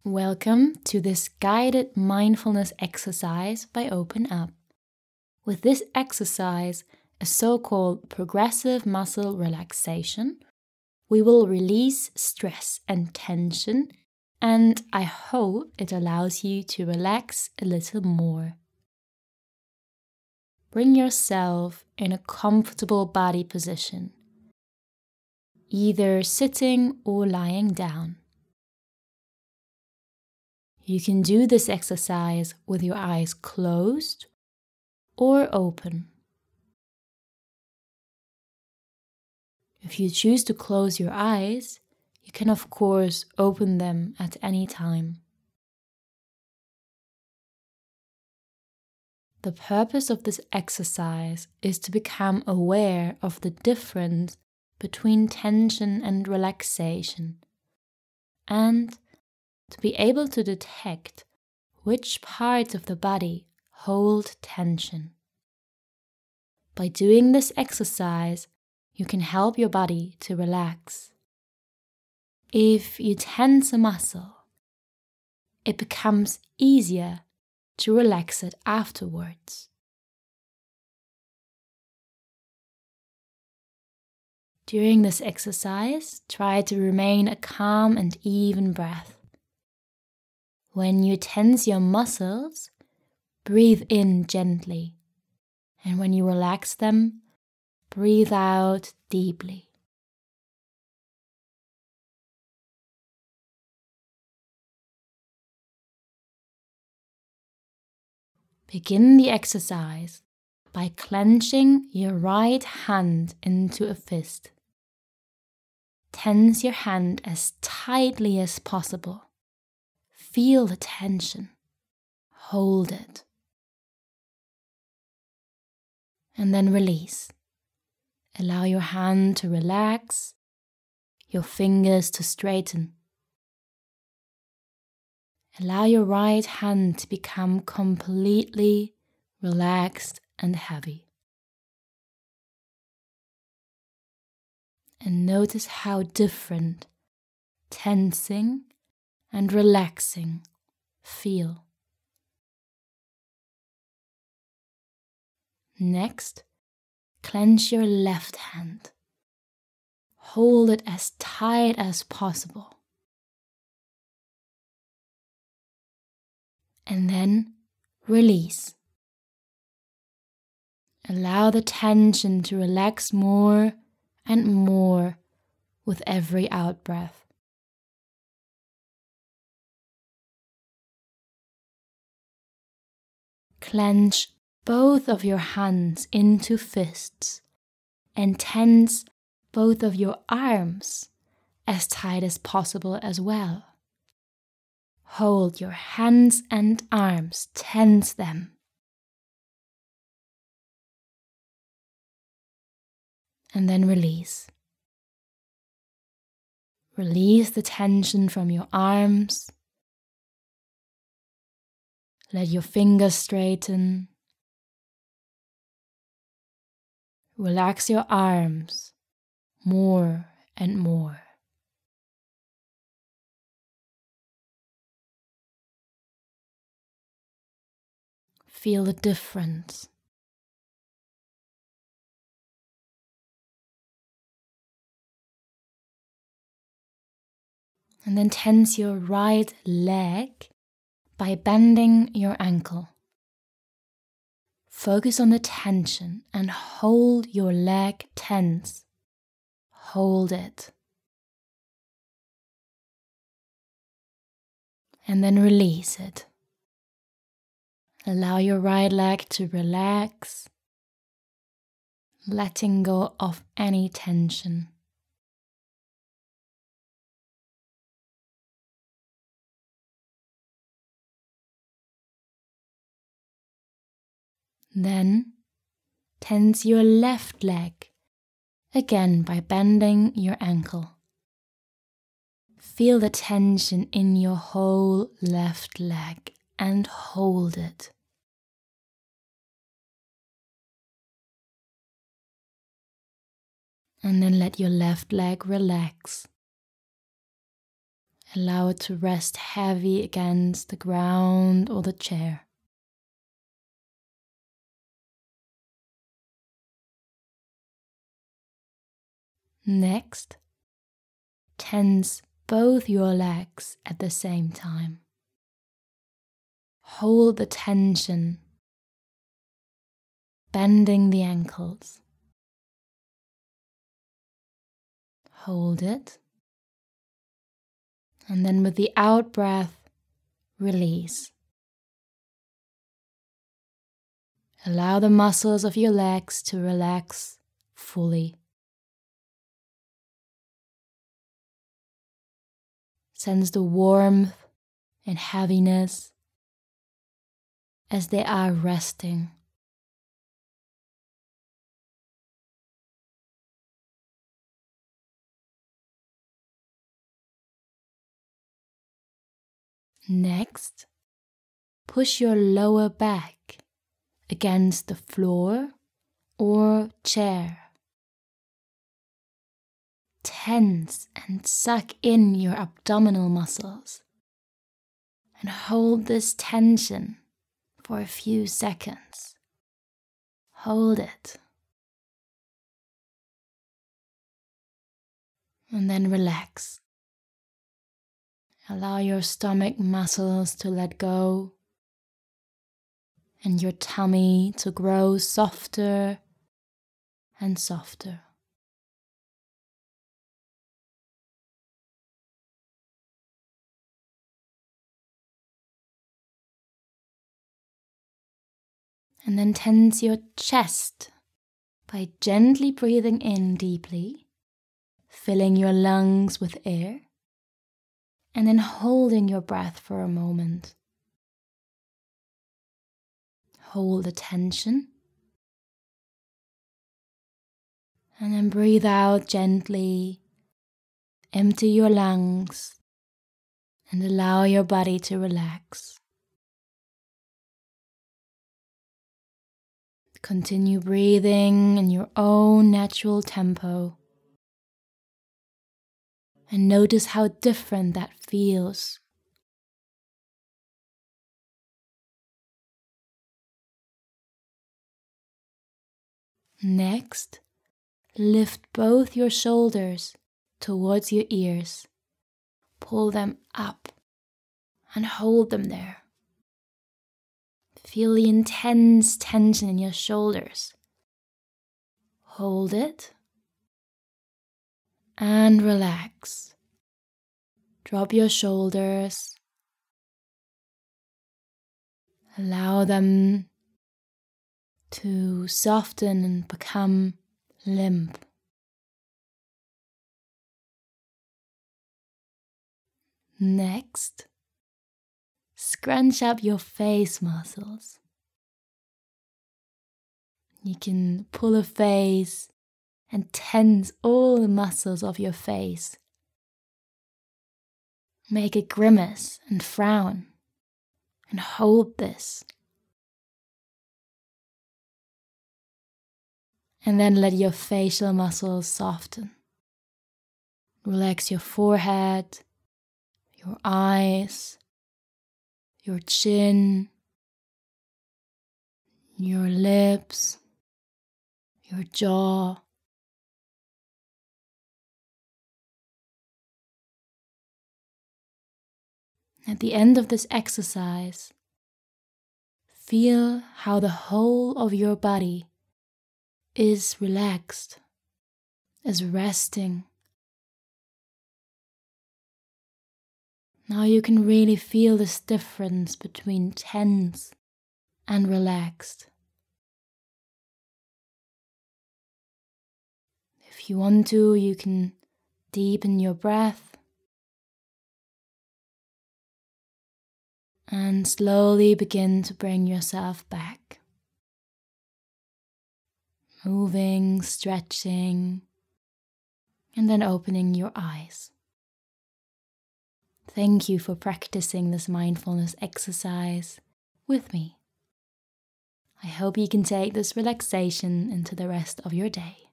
Welcome to this guided mindfulness exercise by Open Up. With this exercise, a so-called progressive muscle relaxation, we will release stress and tension, and I hope it allows you to relax a little more. Bring yourself in a comfortable body position, either sitting or lying down. You can do this exercise with your eyes closed or open. If you choose to close your eyes, you can of course open them at any time. The purpose of this exercise is to become aware of the difference between tension and relaxation, and to be able to detect which parts of the body hold tension. By doing this exercise, you can help your body to relax. If you tense a muscle, it becomes easier to relax it afterwards. During this exercise, try to remain a calm and even breath. When you tense your muscles, breathe in gently, and when you relax them, breathe out deeply. Begin the exercise by clenching your right hand into a fist. Tense your hand as tightly as possible. Feel the tension. Hold it. And then release. Allow your hand to relax, your fingers to straighten. Allow your right hand to become completely relaxed and heavy. And notice how different tensing and relaxing feel. Next, clench your left hand. Hold it as tight as possible. And then release. Allow the tension to relax more and more with every out-breath. Clench both of your hands into fists and tense both of your arms as tight as possible as well. Hold your hands and arms, tense them. And then release. Release the tension from your arms. Let your fingers straighten. Relax your arms more and more. Feel the difference. And then tense your right leg by bending your ankle. Focus on the tension and hold your leg tense. Hold it. And then release it. Allow your right leg to relax, letting go of any tension. Then tense your left leg, again by bending your ankle. Feel the tension in your whole left leg and hold it. And then let your left leg relax. Allow it to rest heavy against the ground or the chair. Next, tense both your legs at the same time. Hold the tension, bending the ankles. Hold it. And then with the out breath, release. Allow the muscles of your legs to relax fully. Sense the warmth and heaviness as they are resting. Next, push your lower back against the floor or chair. Tense and suck in your abdominal muscles and hold this tension for a few seconds. Hold it. And then relax. Allow your stomach muscles to let go and your tummy to grow softer and softer. And then tense your chest by gently breathing in deeply, filling your lungs with air, and then holding your breath for a moment. Hold the tension. And then breathe out gently, empty your lungs, and allow your body to relax. Continue breathing in your own natural tempo. And notice how different that feels. Next, lift both your shoulders towards your ears. Pull them up and hold them there. Feel the intense tension in your shoulders. Hold it and relax. Drop your shoulders. Allow them to soften and become limp. Next, scrunch up your face muscles. You can pull a face and tense all the muscles of your face. Make a grimace and frown and hold this. And then let your facial muscles soften. Relax your forehead, your eyes, your chin, your lips, your jaw. At the end of this exercise, feel how the whole of your body is relaxed, is resting. Now you can really feel this difference between tense and relaxed. If you want to, you can deepen your breath and slowly begin to bring yourself back. Moving, stretching, and then opening your eyes. Thank you for practicing this mindfulness exercise with me. I hope you can take this relaxation into the rest of your day.